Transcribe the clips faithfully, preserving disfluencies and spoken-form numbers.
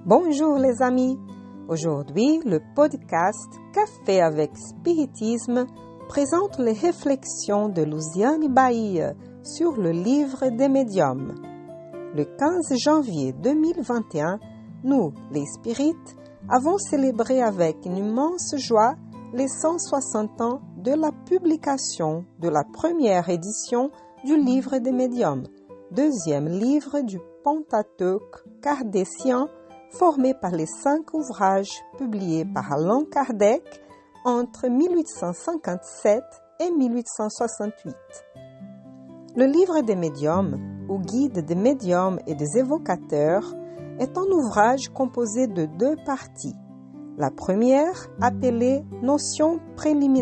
Bonjour les amis, aujourd'hui le podcast Café avec Spiritisme présente les réflexions de Luciane Bahia sur le livre des médiums. Le quinze janvier deux mille vingt et un, nous, les spirites, avons célébré avec une immense joie les cent soixante ans de la publication de la première édition du livre des médiums, deuxième livre du Pentateuque kardécien formé par les cinq ouvrages publiés par Allan Kardec entre mille huit cent cinquante-sept et mille huit cent soixante-huit. Le livre des médiums, ou guide des médiums et des évocateurs, est un ouvrage composé de deux parties. La première, appelée « Notions préliminaires »,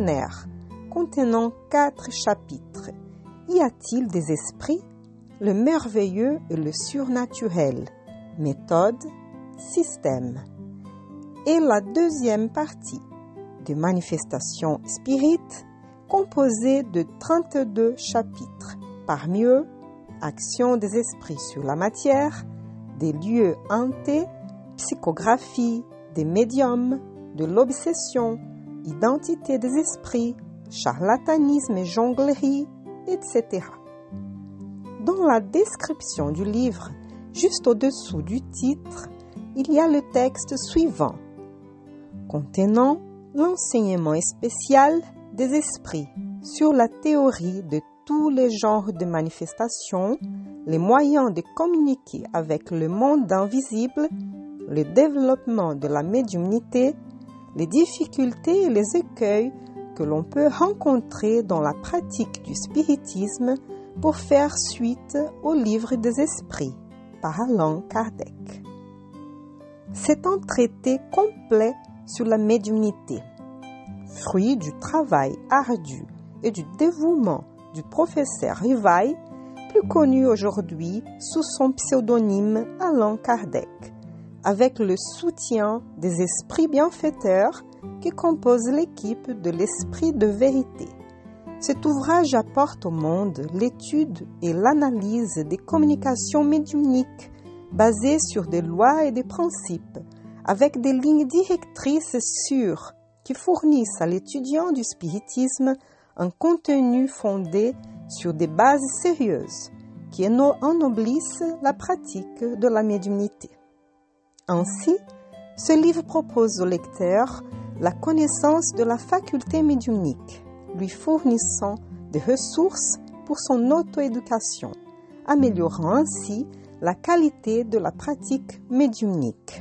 contenant quatre chapitres. Y a-t-il des esprits? Le merveilleux et le surnaturel. Méthode, système. Et la deuxième partie, de manifestations spirites, composée de trente-deux chapitres. Parmi eux, action des esprits sur la matière, des lieux hantés, psychographie, des médiums, de l'obsession, identité des esprits, charlatanisme et jonglerie, et cetera. Dans la description du livre, juste au-dessous du titre, il y a le texte suivant, contenant l'enseignement spécial des esprits sur la théorie de tous les genres de manifestations, les moyens de communiquer avec le monde invisible, le développement de la médiumnité, les difficultés et les écueils que l'on peut rencontrer dans la pratique du spiritisme pour faire suite au livre des esprits par Allan Kardec. C'est un traité complet sur la médiumnité, fruit du travail ardu et du dévouement du professeur Rivail, plus connu aujourd'hui sous son pseudonyme Allan Kardec, avec le soutien des esprits bienfaiteurs qui composent l'équipe de l'Esprit de vérité. Cet ouvrage apporte au monde l'étude et l'analyse des communications médiumniques basées sur des lois et des principes, avec des lignes directrices sûres qui fournissent à l'étudiant du spiritisme un contenu fondé sur des bases sérieuses qui ennoblissent la pratique de la médiumnité. Ainsi, ce livre propose au lecteur la connaissance de la faculté médiumnique, lui fournissant des ressources pour son auto-éducation, améliorant ainsi la qualité de la pratique médiumnique.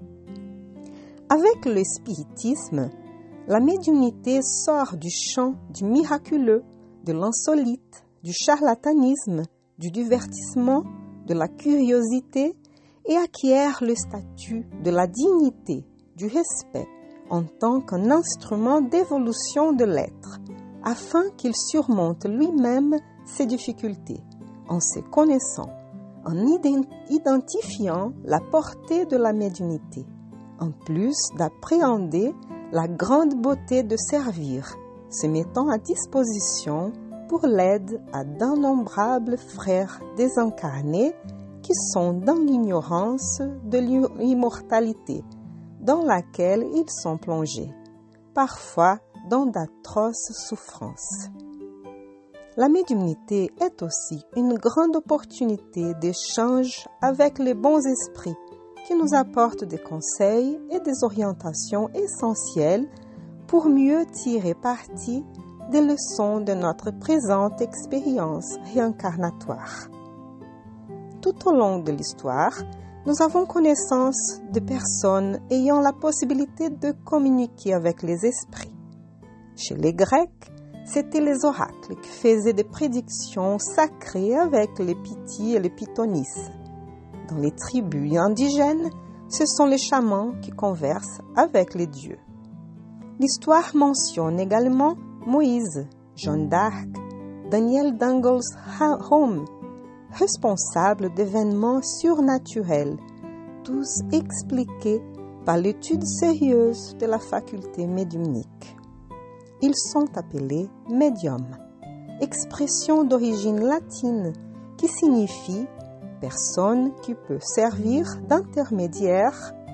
Avec le spiritisme, la médiumnité sort du champ du miraculeux, de l'insolite, du charlatanisme, du divertissement, de la curiosité et acquiert le statut de la dignité, du respect, en tant qu'un instrument d'évolution de l'être, afin qu'il surmonte lui-même ses difficultés, en se connaissant, en identifiant la portée de la médiumnité, en plus d'appréhender la grande beauté de servir, se mettant à disposition pour l'aide à d'innombrables frères désincarnés qui sont dans l'ignorance de l'immortalité, dans laquelle ils sont plongés, parfois dans d'atroces souffrances. La médiumnité est aussi une grande opportunité d'échange avec les bons esprits qui nous apportent des conseils et des orientations essentielles pour mieux tirer parti des leçons de notre présente expérience réincarnatoire. Tout au long de l'histoire, nous avons connaissance de personnes ayant la possibilité de communiquer avec les esprits. Chez les Grecs, c'étaient les oracles qui faisaient des prédictions sacrées avec les pythis et les pythonisses. Dans les tribus indigènes, ce sont les chamans qui conversent avec les dieux. L'histoire mentionne également Moïse, Jeanne d'Arc, Daniel d'Ingelholm, responsables d'événements surnaturels, tous expliqués par l'étude sérieuse de la faculté médiumnique. Ils sont appelés médiums, expression d'origine latine qui signifie personne qui peut servir d'intermédiaire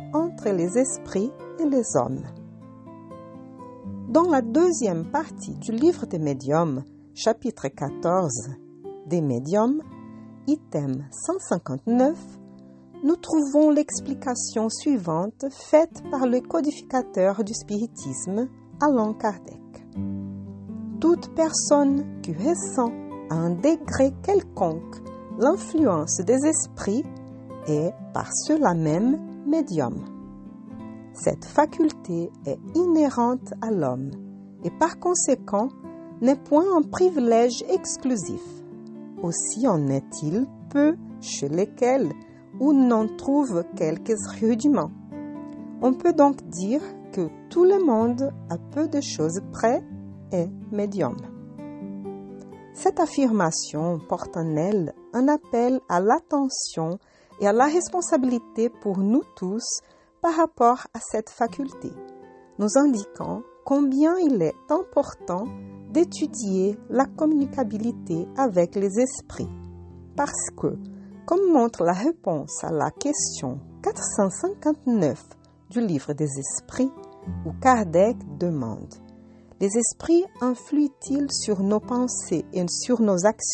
entre les esprits et les hommes. Dans la deuxième partie du livre des médiums, chapitre quatorze, des médiums, item cent cinquante-neuf, nous trouvons l'explication suivante faite par le codificateur du spiritisme, Allan Kardec. Toute personne qui ressent à un degré quelconque l'influence des esprits est par cela même médium. Cette faculté est inhérente à l'homme et par conséquent n'est point un privilège exclusif. Aussi en est-il peu chez lesquels où n'en trouve quelques rudiments. On peut donc dire que tout le monde, à peu de choses près, est médium. Cette affirmation porte en elle un appel à l'attention et à la responsabilité pour nous tous par rapport à cette faculté, nous indiquant combien il est important d'étudier la communicabilité avec les esprits, parce que, comme montre la réponse à la question quatre cent cinquante-neuf du livre des esprits, où Kardec demande « Les esprits influent-ils sur nos pensées et sur nos actions ?»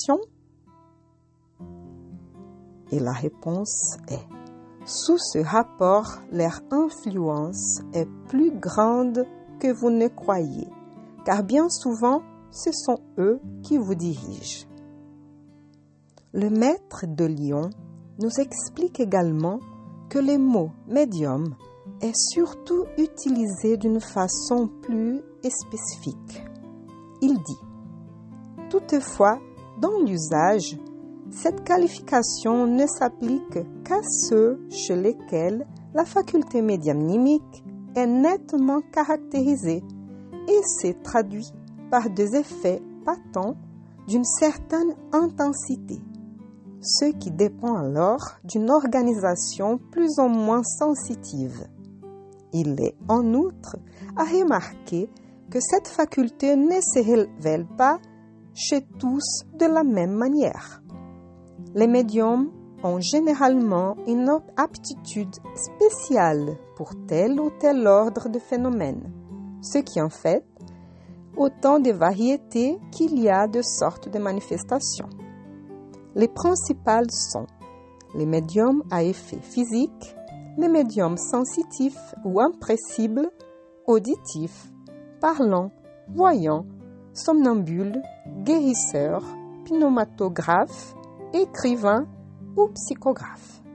Et la réponse est « Sous ce rapport, leur influence est plus grande que vous ne croyez, car bien souvent, ce sont eux qui vous dirigent. » Le maître de Lyon nous explique également que le mot « médium » est surtout utilisé d'une façon plus spécifique. Il dit « Toutefois, dans l'usage, cette qualification ne s'applique qu'à ceux chez lesquels la faculté médiumnique est nettement caractérisée et se traduit par des effets patents d'une certaine intensité, ce qui dépend alors d'une organisation plus ou moins sensitive. Il est en outre à remarquer que cette faculté ne se révèle pas chez tous de la même manière. Les médiums ont généralement une aptitude spéciale pour tel ou tel ordre de phénomènes, ce qui en fait autant de variétés qu'il y a de sortes de manifestations. Les principales sont les médiums à effet physique, les médiums sensitifs ou impressibles, auditifs, parlants, voyants, somnambules, guérisseurs, pneumatographes, écrivains ou psychographes.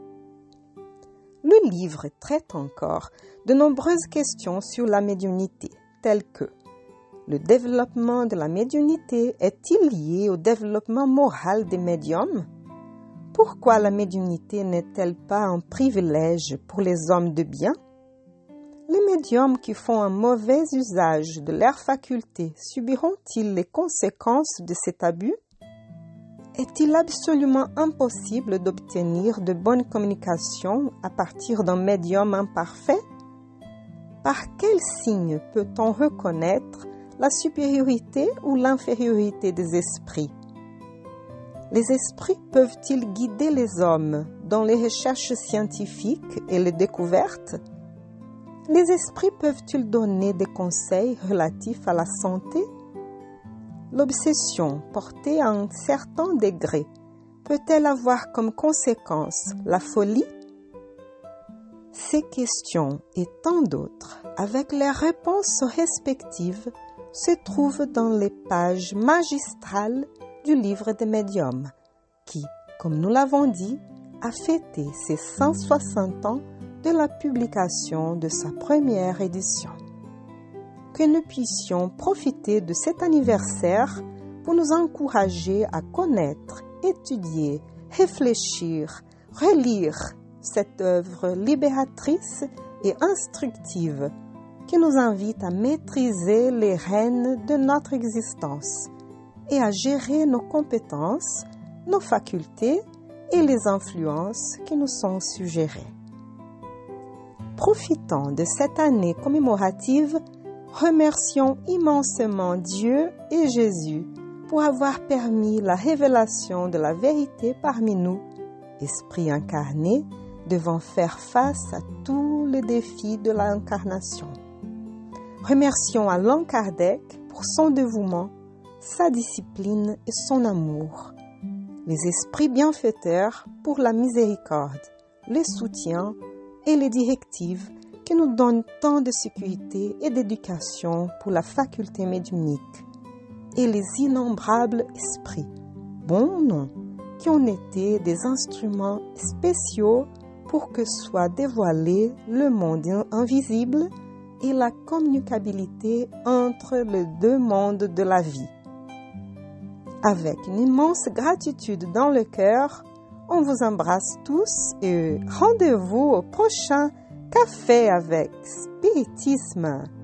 Le livre traite encore de nombreuses questions sur la médiumnité, telles que le développement de la médiumnité est-il lié au développement moral des médiums? Pourquoi la médiumnité n'est-elle pas un privilège pour les hommes de bien? Les médiums qui font un mauvais usage de leurs facultés subiront-ils les conséquences de cet abus? Est-il absolument impossible d'obtenir de bonnes communications à partir d'un médium imparfait? Par quel signe peut-on reconnaître la supériorité ou l'infériorité des esprits? Les esprits peuvent-ils guider les hommes dans les recherches scientifiques et les découvertes? Les esprits peuvent-ils donner des conseils relatifs à la santé? L'obsession portée à un certain degré peut-elle avoir comme conséquence la folie? Ces questions et tant d'autres, avec leurs réponses respectives, se trouvent dans les pages magistrales du livre des médiums, qui, comme nous l'avons dit, a fêté ses cent soixante ans de la publication de sa première édition. Que nous puissions profiter de cet anniversaire pour nous encourager à connaître, étudier, réfléchir, relire cette œuvre libératrice et instructive qui nous invite à maîtriser les rênes de notre existence et à gérer nos compétences, nos facultés et les influences qui nous sont suggérées. Profitant de cette année commémorative, remercions immensement Dieu et Jésus pour avoir permis la révélation de la vérité parmi nous, esprit incarné, devant faire face à tous les défis de l'incarnation. Remercions Allan Kardec pour son dévouement, sa discipline et son amour. Les esprits bienfaiteurs pour la miséricorde, les soutiens et les directives qui nous donnent tant de sécurité et d'éducation pour la faculté médiumnique. Et les innombrables esprits, bons noms, qui ont été des instruments spéciaux pour que soit dévoilé le monde invisible et la communicabilité entre les deux mondes de la vie. Avec une immense gratitude dans le cœur, on vous embrasse tous et rendez-vous au prochain Café avec Spiritisme.